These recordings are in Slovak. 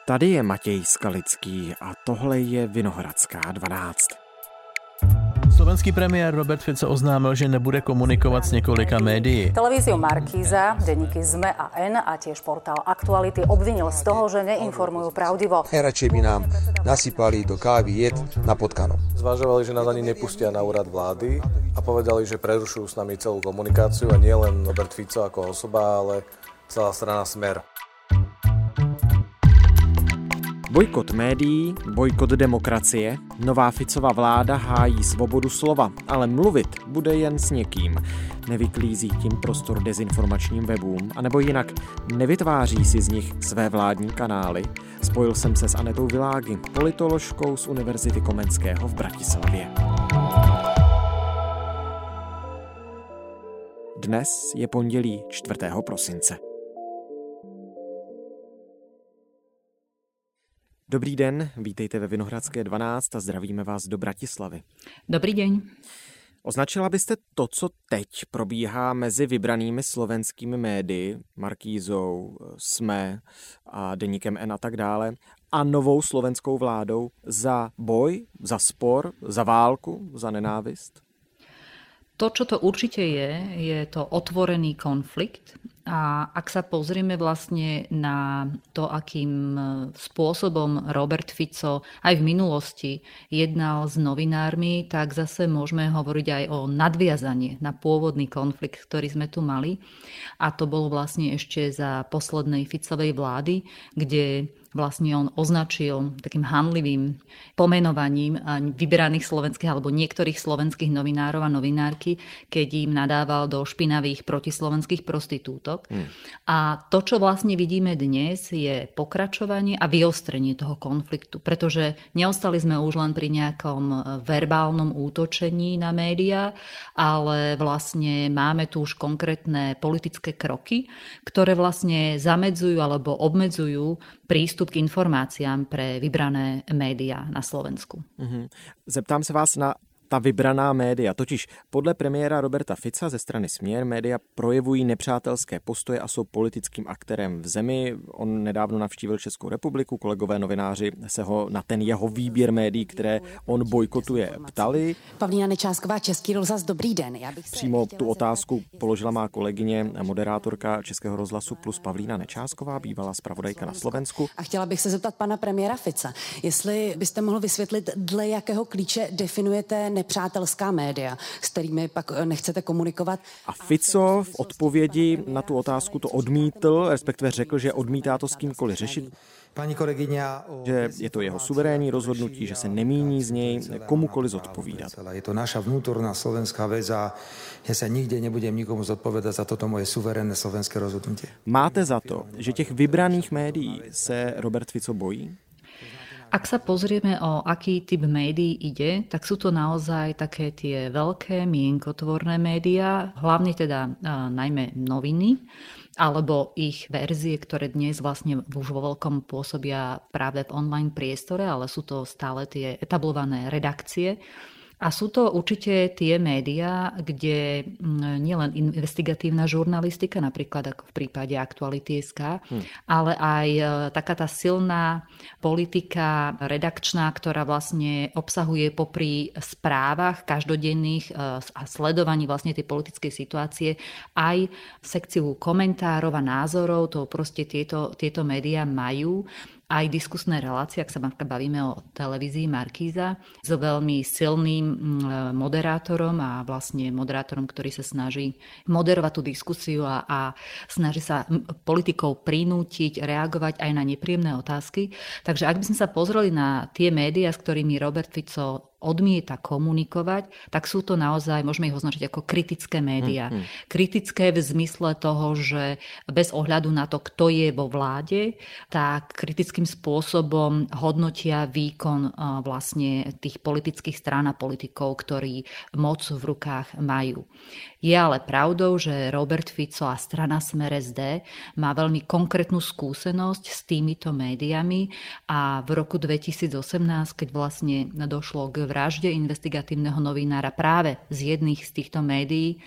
Tady je Matěj Skalický a tohle je Vinohradská 12. Slovenský premiér Robert Fico oznámil, že nebude komunikovat s několika médií. Televíziu Markíza, denníky ZME a N a tiež portál Aktuality obvinil z toho, že neinformujú pravdivo. Najradšej by nám nasypali do kávy jed na potkano. Zvažovali, že nás ani nepustia na úrad vlády a povedali, že prerušujú s nami celú komunikáciu a nie len Robert Fico ako osoba, ale celá strana Smer. Bojkot médií, bojkot demokracie, nová Ficova vláda hájí svobodu slova, ale mluvit bude jen s někým. Nevyklízí tím prostor dezinformačním webům, anebo jinak nevytváří si z nich své vládní kanály. Spojil jsem se s Anetou Világy, politoložkou z Univerzity Komenského v Bratislavě. Dnes je pondělí 4. prosince. Dobrý den, vítejte ve Vinohradské 12 a zdravíme vás do Bratislavy. Dobrý deň. Označila byste to, co teď probíhá mezi vybranými slovenskými médii, Markízou, SME a deníkem N a tak dále, a novou slovenskou vládou za boj, za spor, za válku, za nenávist? To, čo to určite je to otvorený konflikt. A ak sa pozrieme vlastne na to, akým spôsobom Robert Fico aj v minulosti jednal s novinármi, tak zase môžeme hovoriť aj o nadviazanie na pôvodný konflikt, ktorý sme tu mali. A to bolo vlastne ešte za poslednej Ficovej vlády, kde vlastne on označil takým hanlivým pomenovaním vyberaných slovenských alebo niektorých slovenských novinárov a novinárky, keď im nadával do špinavých protislovenských prostitútok. A to, čo vlastne vidíme dnes, je pokračovanie a vyostrenie toho konfliktu, pretože neostali sme už len pri nejakom verbálnom útočení na médiá, ale vlastne máme tu už konkrétne politické kroky, ktoré vlastne zamedzujú alebo obmedzujú prístup k informáciám pre vybrané média na Slovensku. Zeptám se vás na ta vybraná média. Totiž podle premiéra Roberta Fica ze strany Směr média projevují nepřátelské postoje a jsou politickým aktérem v zemi. On nedávno navštívil Českou republiku, kolegové novináři se ho na ten jeho výběr médií, které on bojkotuje, ptali. Pavlína Nečásková, Český rozhlas, dobrý den. Přímo tu otázku položila má kolegyně, moderátorka Českého rozhlasu Plus Pavlína Nečásková, bývalá zpravodajka na Slovensku. A chtěla bych se zeptat pana premiéra Fica, jestli byste mohl vysvětlit, dle jakého klíče definujete nepřátelská média, s kterými pak nechcete komunikovat. A Fico v odpovědi na tu otázku to odmítl, respektive řekl, že odmítá to s kýmkoliv řešit. Pani kolegyňa, že je to jeho suverénní rozhodnutí, že se nemíní z něj komukoliv zodpovídat. Je to naša vnútorná slovenská vec a ja sa nikde nebudem nikomu zodpovedať za toto moje suverénne slovenské rozhodnutie. Máte za to, že těch vybraných médií se Robert Fico bojí? Ak sa pozrieme, o aký typ médií ide, tak sú to naozaj také tie veľké mienkotvorné médiá, hlavne teda najmä noviny, alebo ich verzie, ktoré dnes vlastne už vo veľkom pôsobia práve v online priestore, ale sú to stále tie etablované redakcie. A sú to určite tie médiá, kde nielen investigatívna žurnalistika, napríklad ako v prípade Aktuality.sk, ale aj taká tá silná politika redakčná, ktorá vlastne obsahuje popri správach každodenných a sledovaní vlastne tej politickej situácie aj sekciu komentárov a názorov. To proste tieto médiá majú. Aj diskusné relácie, ak sa bavíme o televízii Markíza, so veľmi silným moderátorom a vlastne moderátorom, ktorý sa snaží moderovať tú diskusiu a snaží sa politikov prinútiť reagovať aj na nepríjemné otázky. Takže ak by sme sa pozreli na tie médiá, s ktorými Robert Fico odmieta komunikovať, tak sú to naozaj, môžeme ich označiť ako kritické médiá. Kritické v zmysle toho, že bez ohľadu na to, kto je vo vláde, tak kritickým spôsobom hodnotia výkon vlastne tých politických strán a politikov, ktorí moc v rukách majú. Je ale pravdou, že Robert Fico a strana Smer SD má veľmi konkrétnu skúsenosť s týmito médiami a v roku 2018, keď vlastne došlo k vražde investigatívneho novinára práve z jedných z týchto médií,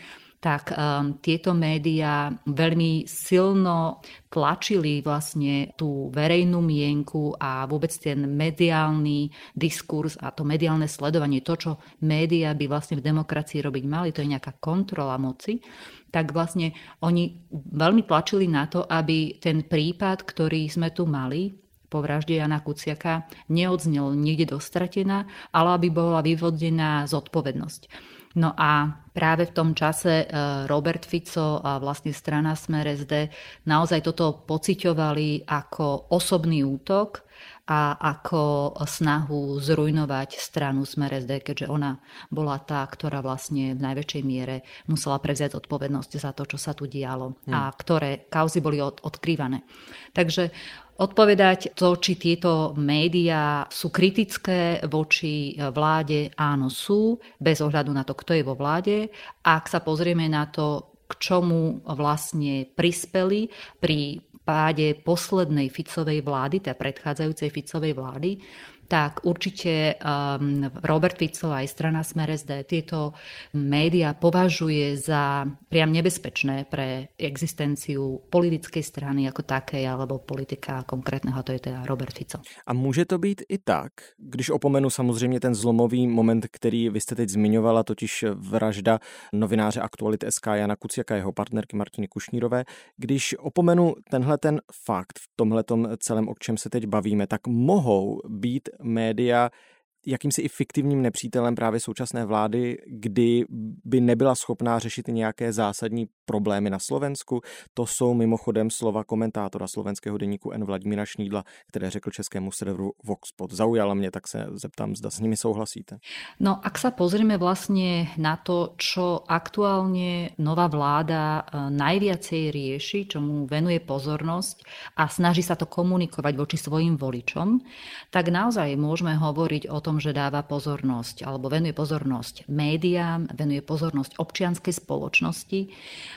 tak tieto médiá veľmi silno tlačili vlastne tú verejnú mienku a vôbec ten mediálny diskurs a to mediálne sledovanie, to, čo médiá by vlastne v demokracii robiť mali, to je nejaká kontrola moci, tak vlastne oni veľmi tlačili na to, aby ten prípad, ktorý sme tu mali, po vražde Jana Kuciaka, neodznel niekde dostratená, ale aby bola vyvodená zodpovednosť. No a práve v tom čase Robert Fico a vlastne strana Smer SD naozaj toto pociťovali ako osobný útok a ako snahu zrujnovať stranu Smer SD, keďže ona bola tá, ktorá vlastne v najväčšej miere musela prevziať odpovednosť za to, čo sa tu dialo a ktoré kauzy boli odkrývané. Takže odpovedať to, či tieto médiá sú kritické voči vláde, áno sú, bez ohľadu na to, kto je vo vláde. Ak sa pozrieme na to, k čomu vlastne prispeli pri páde poslednej Ficovej vlády, teda predchádzajúcej Ficovej vlády, tak určite Robert Fico aj strana Smer SD tieto médiá považuje za priam nebezpečné pre existenciu politickej strany ako takej, alebo politika konkrétneho, to je teda Robert Fico. A může to být i tak, když opomenu samozřejmě ten zlomový moment, který vy jste teď zmiňovala, totiž vražda novináře Aktualit.sk Jana Kuciaka, jeho partnerky Martiny Kušnírové, když opomenu tenhle ten fakt v tomhletom celém, o čem se teď bavíme, tak mohou být média jakýmsi i fiktivním nepřítelem právě současné vlády, kdy by nebyla schopná řešit nějaké zásadní problémy na Slovensku. To jsou mimochodem slova komentátora slovenského deníku N Vladimíra Šnídla, které řekl českému serveru Voxpod. Zaujala mě, tak se zeptám, zda s nimi souhlasíte. No, ak sa pozrieme vlastne na to, čo aktuálne nová vláda najviacej rieši, čomu venuje pozornosť a snaží sa to komunikovať voči svojim voličom, tak naozaj môžeme hovoriť o tom, že dáva pozornosť alebo venuje pozornosť médiám, venuje pozornosť občianskej spoločnosti.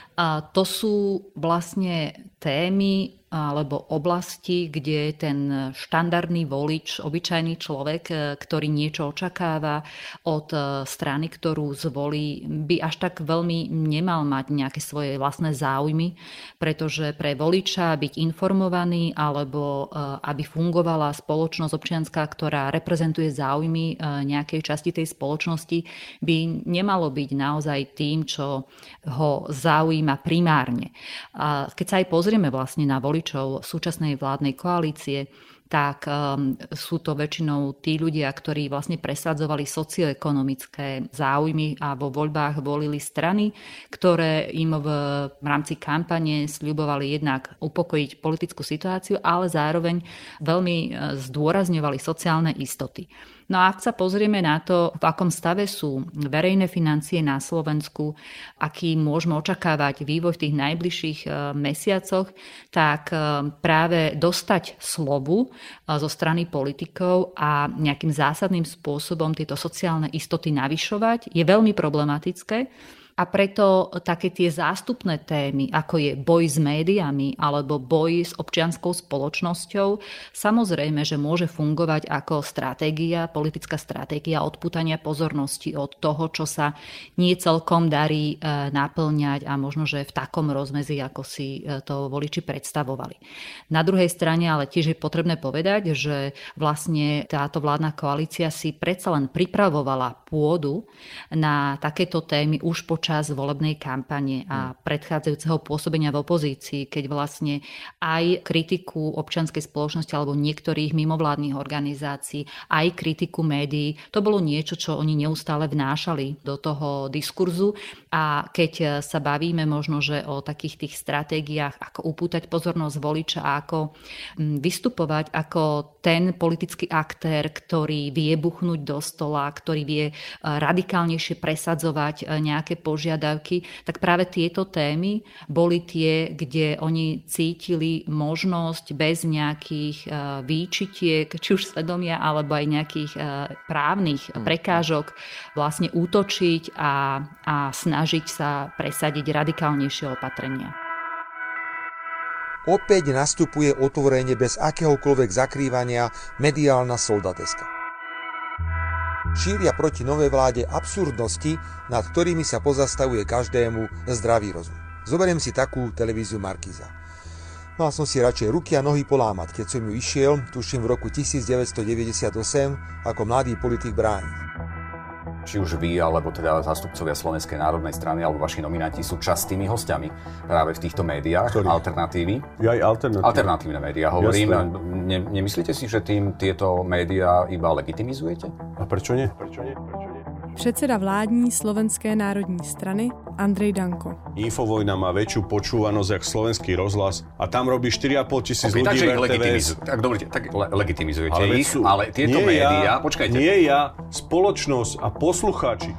A to sú vlastne témy alebo oblasti, kde ten štandardný volič, obyčajný človek, ktorý niečo očakáva od strany, ktorú zvolí, by až tak veľmi nemal mať nejaké svoje vlastné záujmy, pretože pre voliča byť informovaný alebo aby fungovala spoločnosť občianská, ktorá reprezentuje záujmy nejakej časti tej spoločnosti, by nemalo byť naozaj tým, čo ho zaujíma primárne. A keď sa aj pozrieme vlastne na voličov súčasnej vládnej koalície, tak sú to väčšinou tí ľudia, ktorí vlastne presadzovali socioekonomické záujmy a vo voľbách volili strany, ktoré im v rámci kampane sľubovali jednak upokojiť politickú situáciu, ale zároveň veľmi zdôrazňovali sociálne istoty. No a ak sa pozrieme na to, v akom stave sú verejné financie na Slovensku, aký môžeme očakávať vývoj v tých najbližších mesiacoch, tak práve dostať slovu zo strany politikov a nejakým zásadným spôsobom tieto sociálne istoty navyšovať je veľmi problematické. A preto také tie zástupné témy, ako je boj s médiami alebo boj s občianskou spoločnosťou, samozrejme, že môže fungovať ako stratégia, politická stratégia odpútania pozornosti od toho, čo sa nie celkom darí naplňať a možno, že v takom rozmedzi, ako si to voliči predstavovali. Na druhej strane ale tiež je potrebné povedať, že vlastne táto vládna koalícia si predsa len pripravovala pôdu na takéto témy už počas volebnej kampane a predchádzajúceho pôsobenia v opozícii, keď vlastne aj kritiku občianskej spoločnosti alebo niektorých mimovládnych organizácií, aj kritiku médií, to bolo niečo, čo oni neustále vnášali do toho diskurzu. A keď sa bavíme možno, že o takých tých stratégiách, ako upútať pozornosť voliča a ako vystupovať ako ten politický aktér, ktorý vie buchnúť do stola, ktorý vie radikálnejšie presadzovať nejaké požiadavky, tak práve tieto témy boli tie, kde oni cítili možnosť bez nejakých výčitiek, či už svedomia, alebo aj nejakých právnych prekážok vlastne útočiť a snažiť sa presadiť radikálnejšie opatrenia. Opäť nastupuje otvorene bez akéhokoľvek zakrývania mediálna soldateska. šíria proti novej vláde absurdnosti, nad ktorými sa pozastavuje každému zdravý rozum. Zoberiem si takú televíziu Markíza. Mal som si radšej ruky a nohy polámať, keď som ju išiel, tuším v roku 1998, ako mladý politik brániť. Či už vy, alebo teda zástupcovia Slovenskej národnej strany, alebo vaši nominanti sú častými hostiami práve v týchto médiách. Ktorý? Alternatívy. Ja aj alternatívne médiá, hovorím. Nemyslíte si, že tým tieto médiá iba legitimizujete? A prečo nie? Předseda vládní Slovenské národní strany Andrej Danko. Infovojna má väčšiu počúvanosť jak slovenský rozhlas a tam robí 4,5 tisíc ľudí v RTVS. Tak dobre, tak legitimizujete ich, ale tieto médiá, počkajte. Nie ja, spoločnosť a poslucháči.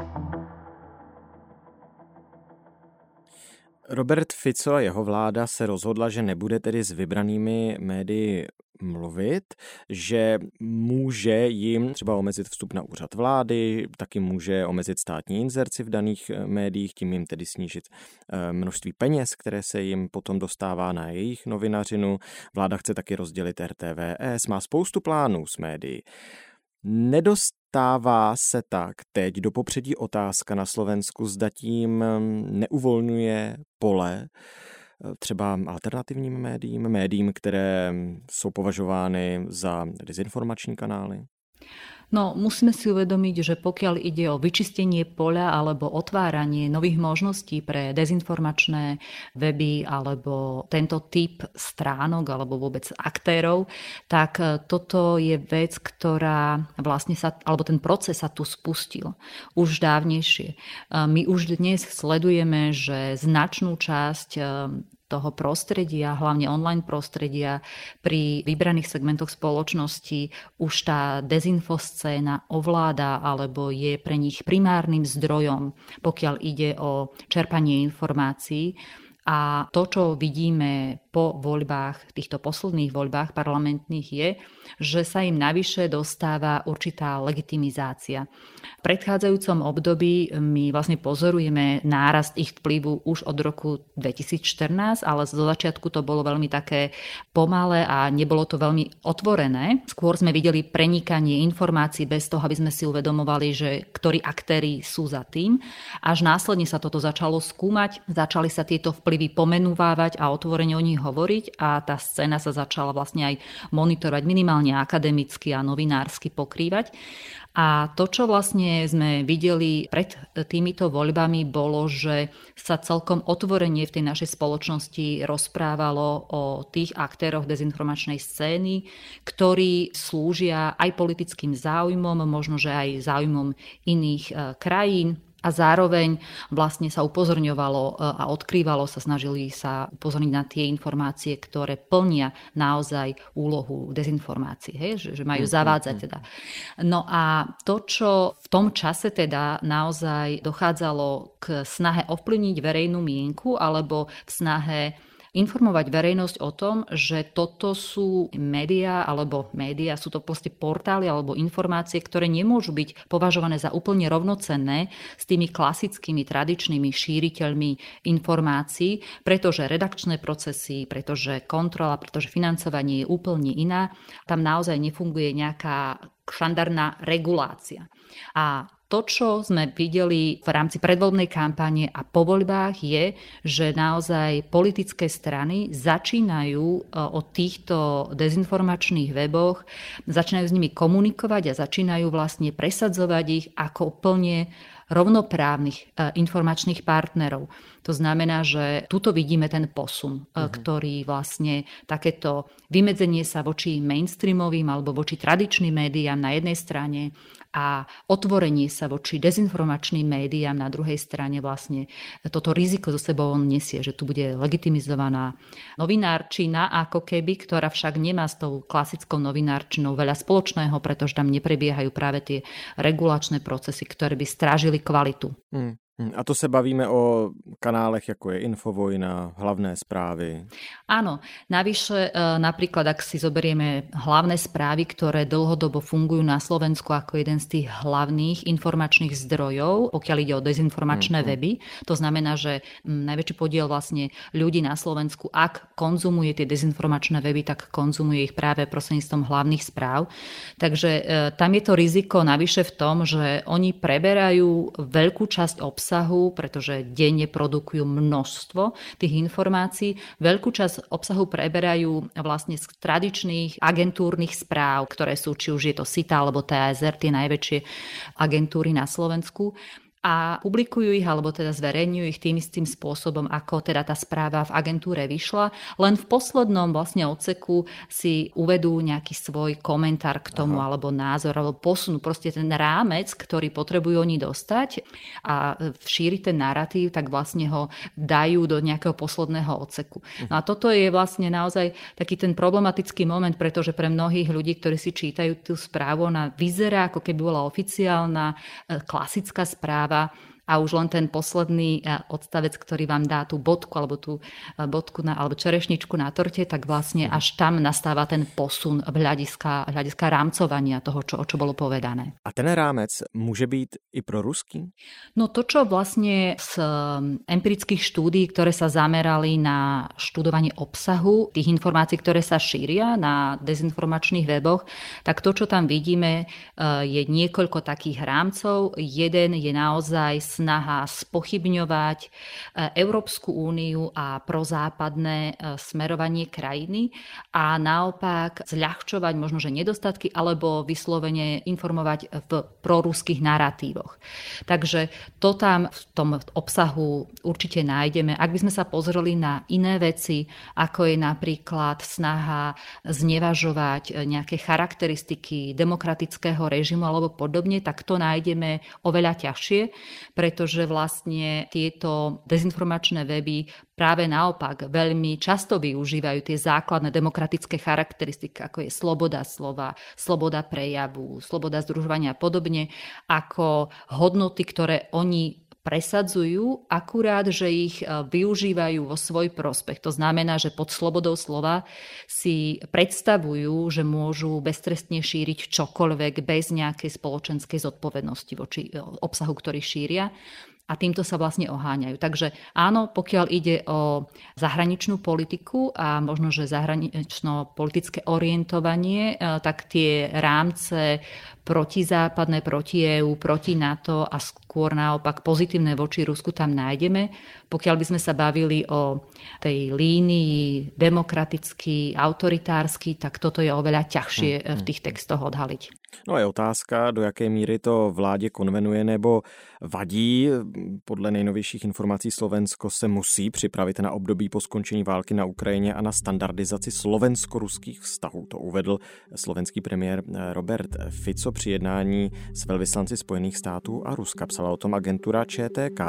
Robert Fico a jeho vláda se rozhodla, že nebude tedy s vybranými médii mluvit, že může jim třeba omezit vstup na úřad vlády, taky může omezit státní inzerci v daných médiích, tím jim tedy snížit množství peněz, které se jim potom dostává na jejich novinařinu. Vláda chce taky rozdělit RTVS, má spoustu plánů s médií. Nedostává se tak teď do popředí otázka na Slovensku, zda tím neuvolňuje pole třeba alternativním médiím, které jsou považovány za dezinformační kanály? No, musíme si uvedomiť, že pokiaľ ide o vyčistenie poľa alebo otváranie nových možností pre dezinformačné weby alebo tento typ stránok alebo vôbec aktérov, tak toto je vec, ktorá vlastne alebo ten proces sa tu spustil už dávnejšie. My už dnes sledujeme, že značnú časť toho prostredia, hlavne online prostredia, pri vybraných segmentoch spoločnosti už tá dezinfoscéna ovláda alebo je pre nich primárnym zdrojom, pokiaľ ide o čerpanie informácií. A to, čo vidíme po voľbách, týchto posledných voľbách parlamentných je, že sa im navyše dostáva určitá legitimizácia. V predchádzajúcom období my vlastne pozorujeme nárast ich vplyvu už od roku 2014, ale zo začiatku to bolo veľmi také pomalé a nebolo to veľmi otvorené. Skôr sme videli prenikanie informácií bez toho, aby sme si uvedomovali, že ktorí aktéri sú za tým. Až následne sa toto začalo skúmať, začali sa tieto vplyvy pomenúvávať a otvorene o nich hovoriť a tá scéna sa začala vlastne aj monitorovať minimálne akademicky a novinársky pokrývať. A to, čo vlastne sme videli pred týmito voľbami, bolo, že sa celkom otvorene v tej našej spoločnosti rozprávalo o tých aktéroch dezinformačnej scény, ktorí slúžia aj politickým záujmom, možno že aj záujmom iných krajín. A zároveň vlastne sa upozorňovalo a odkrývalo sa, snažili sa upozorniť na tie informácie, ktoré plnia naozaj úlohu dezinformácií, že majú zavádzať teda. No a to, čo v tom čase teda naozaj dochádzalo k snahe ovplyvniť verejnú mienku alebo v snahe informovať verejnosť o tom, že toto sú médiá, sú to proste portály alebo informácie, ktoré nemôžu byť považované za úplne rovnocenné s tými klasickými tradičnými šíriteľmi informácií, pretože redakčné procesy, pretože kontrola, pretože financovanie je úplne iná. Tam naozaj nefunguje nejaká štandardná regulácia. A to, čo sme videli v rámci predvoľbnej kampane a po voľbách je, že naozaj politické strany začínajú o týchto dezinformačných weboch, začínajú s nimi komunikovať a začínajú vlastne presadzovať ich ako úplne rovnoprávnych informačných partnerov. To znamená, že tuto vidíme ten posun, ktorý vlastne takéto vymedzenie sa voči mainstreamovým alebo voči tradičným médiám na jednej strane a otvorenie sa voči dezinformačným médiám na druhej strane vlastne toto riziko zo sebou on nesie, že tu bude legitimizovaná novinárčina ako keby, ktorá však nemá s tou klasickou novinárčinou veľa spoločného, pretože tam neprebiehajú práve tie regulačné procesy, ktoré by strážili kvalitu. A to se bavíme o kanálech, ako je Infovojna, Hlavné správy. Áno, navyše napríklad, ak si zoberieme Hlavné správy, ktoré dlhodobo fungujú na Slovensku ako jeden z tých hlavných informačných zdrojov, pokiaľ ide o dezinformačné weby. To znamená, že najväčší podiel vlastne ľudí na Slovensku, ak konzumuje tie dezinformačné weby, tak konzumuje ich práve prostredníctvom Hlavných správ. Takže tam je to riziko navyše v tom, že oni preberajú veľkú časť obsahu, pretože denne produkujú množstvo tých informácií. Veľkú časť obsahu preberajú vlastne z tradičných agentúrnych správ, ktoré sú, či už je to SITA alebo TASR, tie najväčšie agentúry na Slovensku. A publikujú ich, alebo teda zverejňujú ich tým istým spôsobom, ako teda tá správa v agentúre vyšla. Len v poslednom vlastne odseku si uvedú nejaký svoj komentár k tomu, alebo názor, alebo posunú proste ten rámec, ktorý potrebujú oni dostať a šíriť ten narratív, tak vlastne ho dajú do nejakého posledného odseku. No a toto je vlastne naozaj taký ten problematický moment, pretože pre mnohých ľudí, ktorí si čítajú tú správu, ona vyzerá, ako keby bola oficiálna, klasická správa, a už len ten posledný odstavec, ktorý vám dá tú bodku alebo tú bodku alebo čerešničku na torte, tak vlastne až tam nastáva ten posun v hľadiska rámcovania toho, čo bolo povedané. A ten rámec môže byť i pro ruský? No to, čo vlastne z empirických štúdií, ktoré sa zamerali na študovanie obsahu tých informácií, ktoré sa šíria na dezinformačných weboch, tak to, čo tam vidíme, je niekoľko takých rámcov. Jeden je naozaj snaha spochybňovať Európsku úniu a prozápadné smerovanie krajiny a naopak zľahčovať možno, že nedostatky alebo vyslovene informovať v proruských naratívoch. Takže to tam v tom obsahu určite nájdeme. Ak by sme sa pozreli na iné veci, ako je napríklad snaha znevažovať nejaké charakteristiky demokratického režimu alebo podobne, tak to nájdeme oveľa ťažšie, pretože vlastne tieto dezinformačné weby práve naopak veľmi často využívajú tie základné demokratické charakteristiky, ako je sloboda slova, sloboda prejavu, sloboda združovania a podobne, ako hodnoty, ktoré oni presadzujú, akurát, že ich využívajú vo svoj prospech. To znamená, že pod slobodou slova si predstavujú, že môžu beztrestne šíriť čokoľvek bez nejakej spoločenskej zodpovednosti voči obsahu, ktorý šíria. A týmto sa vlastne oháňajú. Takže áno, pokiaľ ide o zahraničnú politiku a možno, že zahranično-politické orientovanie, tak tie rámce protizápadné, proti EU, proti NATO a skôr naopak pozitívne voči Rusku tam nájdeme. Pokiaľ by sme sa bavili o tej línii demokratický, autoritársky, tak toto je oveľa ťažšie v tých textoch odhaliť. No je otázka, do jaké míry to vládě konvenuje nebo vadí. Podle nejnovějších informací Slovensko se musí připravit na období po skončení války na Ukrajině a na standardizaci slovensko-ruských vztahů. To uvedl slovenský premiér Robert Fico při jednání s velvyslanci Spojených států a Ruska. Psala o tom agentura ČTK.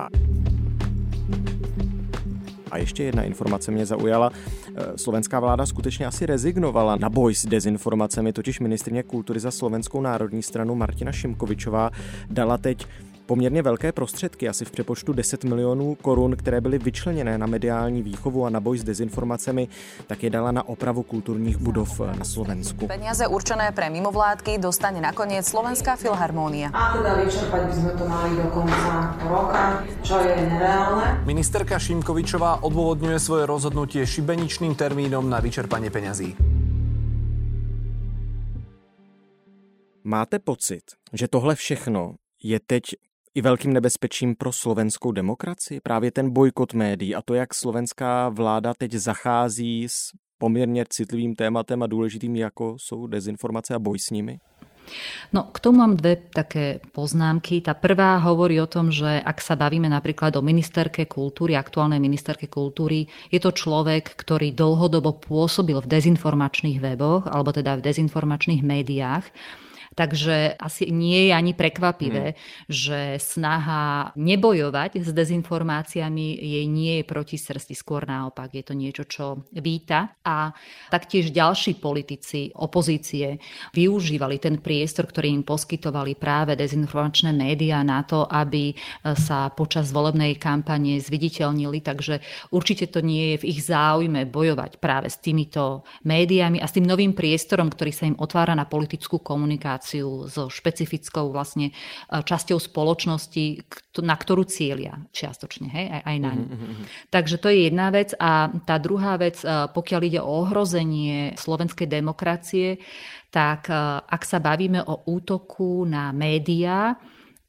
A ještě jedna informace mě zaujala. Slovenská vláda skutečně asi rezignovala na boj s dezinformacemi, totiž ministryně kultury za Slovenskou národní stranu Martina Šimkovičová dala teď poměrně velké prostředky, asi v přepočtu 10 milionů korun, které byly vyčleněné na mediální výchovu a na boj s dezinformacemi, tak je dala na opravu kulturních budov na Slovensku. Peniaze určené pre mimovládky dostane nakoniec Slovenská filharmónia. A teda vyčerpať by sme to mali do konca roka, čo je nereálne. Ministerka Šimkovičová odôvodňuje svoje rozhodnutie šibeničným termínom na vyčerpanie peňazí. Máte pocit, že tohle všechno je teď i velkým nebezpečím pro slovenskou demokracii? Právě ten bojkot médií a to, jak slovenská vláda teď zachází s poměrně citlivým tématem a důležitým, jako jsou dezinformace a boj s nimi? No, k tomu mám dve také poznámky. Tá prvá hovorí o tom, že ak sa bavíme napríklad o ministerke kultúry, aktuálnej ministerke kultúry, je to človek, ktorý dlhodobo pôsobil v dezinformačných weboch, alebo teda v dezinformačných médiách. Takže asi nie je ani prekvapivé, že snaha nebojovať s dezinformáciami jej nie je proti srsti, skôr naopak. Je to niečo, čo víta. A taktiež ďalší politici opozície využívali ten priestor, ktorý im poskytovali práve dezinformačné médiá na to, aby sa počas volebnej kampane zviditeľnili. Takže určite to nie je v ich záujme bojovať práve s týmito médiami a s tým novým priestorom, ktorý sa im otvára na politickú komunikáciu so špecifickou vlastne časťou spoločnosti, na ktorú cieľia čiastočne, hej, aj na ňu. Takže to je jedna vec. A tá druhá vec, pokiaľ ide o ohrozenie slovenskej demokracie, tak ak sa bavíme o útoku na médiá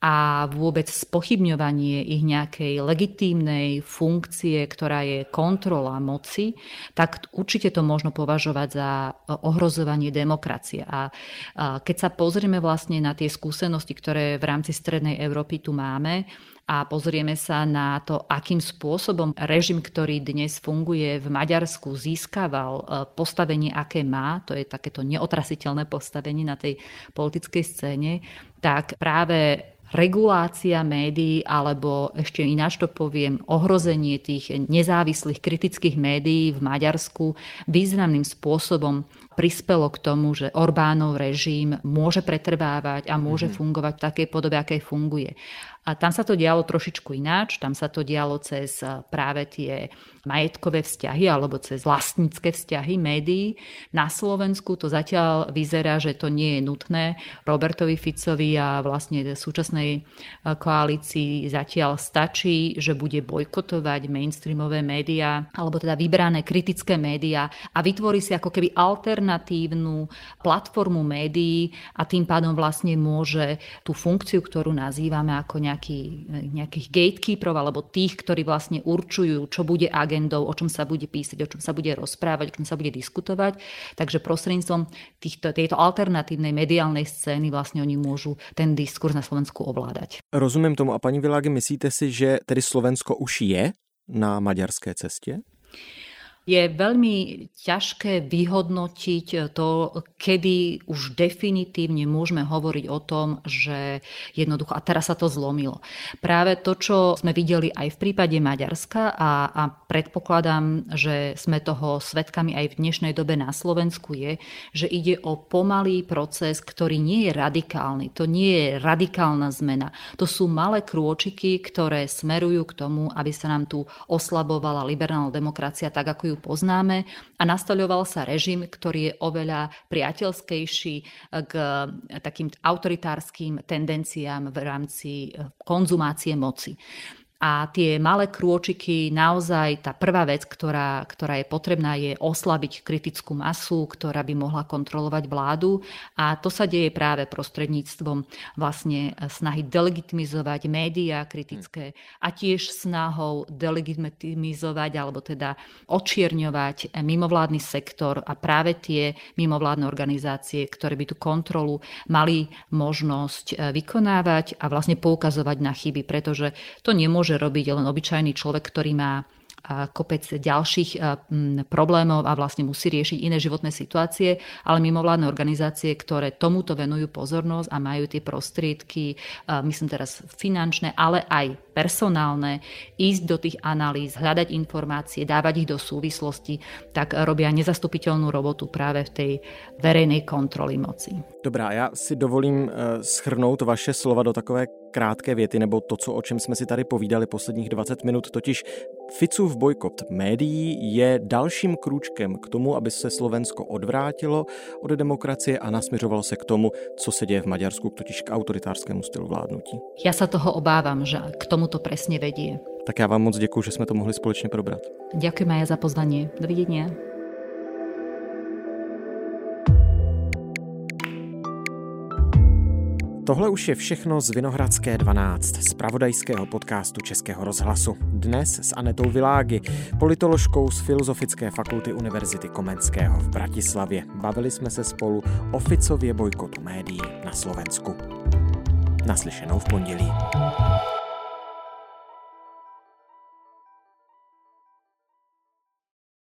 a vôbec spochybňovanie ich nejakej legitímnej funkcie, ktorá je kontrola moci, tak určite to možno považovať za ohrozovanie demokracie. A keď sa pozrieme vlastne na tie skúsenosti, ktoré v rámci Strednej Európy tu máme, a pozrieme sa na to, akým spôsobom režim, ktorý dnes funguje v Maďarsku, získaval postavenie, aké má, to je takéto neotrasiteľné postavenie na tej politickej scéne, tak práve regulácia médií, alebo ešte ináč to poviem, ohrozenie tých nezávislých kritických médií v Maďarsku významným spôsobom prispelo k tomu, že Orbánov režim môže pretrvávať a môže fungovať v takej podobe, akej funguje. A tam sa to dialo trošičku ináč, tam sa to dialo cez práve tie majetkové vzťahy alebo cez vlastnícke vzťahy médií. Na Slovensku to zatiaľ vyzerá, že to nie je nutné. Robertovi Ficovi a vlastne súčasnej koalícii zatiaľ stačí, že bude bojkotovať mainstreamové médiá alebo teda vybrané kritické médiá a vytvorí si ako keby alternatívnu platformu médií a tým pádom vlastne môže tú funkciu, ktorú nazývame ako nejakých gatekeeperov alebo tých, ktorí vlastne určujú, čo bude agendou, o čom sa bude písať, o čom sa bude rozprávať, o čom sa bude diskutovať. Takže prostredníctvom tejto alternatívnej mediálnej scény vlastne oni môžu ten diskurs na Slovensku ovládať. Rozumím tomu. A paní Világi, myslíte si, že tedy Slovensko už je na maďarské cestě? Je veľmi ťažké vyhodnotiť to, kedy už definitívne môžeme hovoriť o tom, že jednoducho, a teraz sa to zlomilo. Práve to, čo sme videli aj v prípade Maďarska a predpokladám, že sme toho svedkami aj v dnešnej dobe na Slovensku je, že ide o pomalý proces, ktorý nie je radikálny. To nie je radikálna zmena. To sú malé krôčiky, ktoré smerujú k tomu, aby sa nám tu oslabovala liberálna demokracia tak, ako ju poznáme a nastoľoval sa režim, ktorý je oveľa priateľskejší k takým autoritárskym tendenciám v rámci konzumácie moci. A tie malé krôčiky, naozaj tá prvá vec, ktorá je potrebná, je oslabiť kritickú masu, ktorá by mohla kontrolovať vládu. A to sa deje práve prostredníctvom vlastne snahy delegitimizovať médiá kritické a tiež snahou delegitimizovať alebo teda očierňovať mimovládny sektor a práve tie mimovládne organizácie, ktoré by tú kontrolu mali možnosť vykonávať a vlastne poukazovať na chyby, pretože to nemôže robiť len obyčajný človek, ktorý má kopec ďalších problémov a vlastne musí riešiť iné životné situácie, ale mimovládne organizácie, ktoré tomuto venujú pozornosť a majú tie prostriedky, myslím teraz finančné, ale aj personálne, ísť do tých analýz, hľadať informácie, dávať ich do súvislosti, tak robia nezastupiteľnú robotu práve v tej verejnej kontroly moci. Dobrá, já si dovolím shrnout vaše slova do takové krátké věty, nebo to, o čem jsme si tady povídali posledních 20 minut, totiž Ficův bojkot médií je dalším krůčkem k tomu, aby se Slovensko odvrátilo od demokracie a nasměřovalo se k tomu, co se děje v Maďarsku, totiž k autoritárskému stylu vládnutí. Ja sa toho obávam, že k tomu to presne vedie. Tak já vám moc děkuju, že jsme to mohli společně probrat. Ďakujem aj za pozvanie. Dovidenia. Tohle už je všechno z Vinohradské 12, z zpravodajského podcastu Českého rozhlasu. Dnes s Anetou Világi, politoložkou z Filozofické fakulty Univerzity Komenského v Bratislavě. Bavili jsme se spolu o Ficově bojkotu médií na Slovensku. Naslyšenou v pondělí.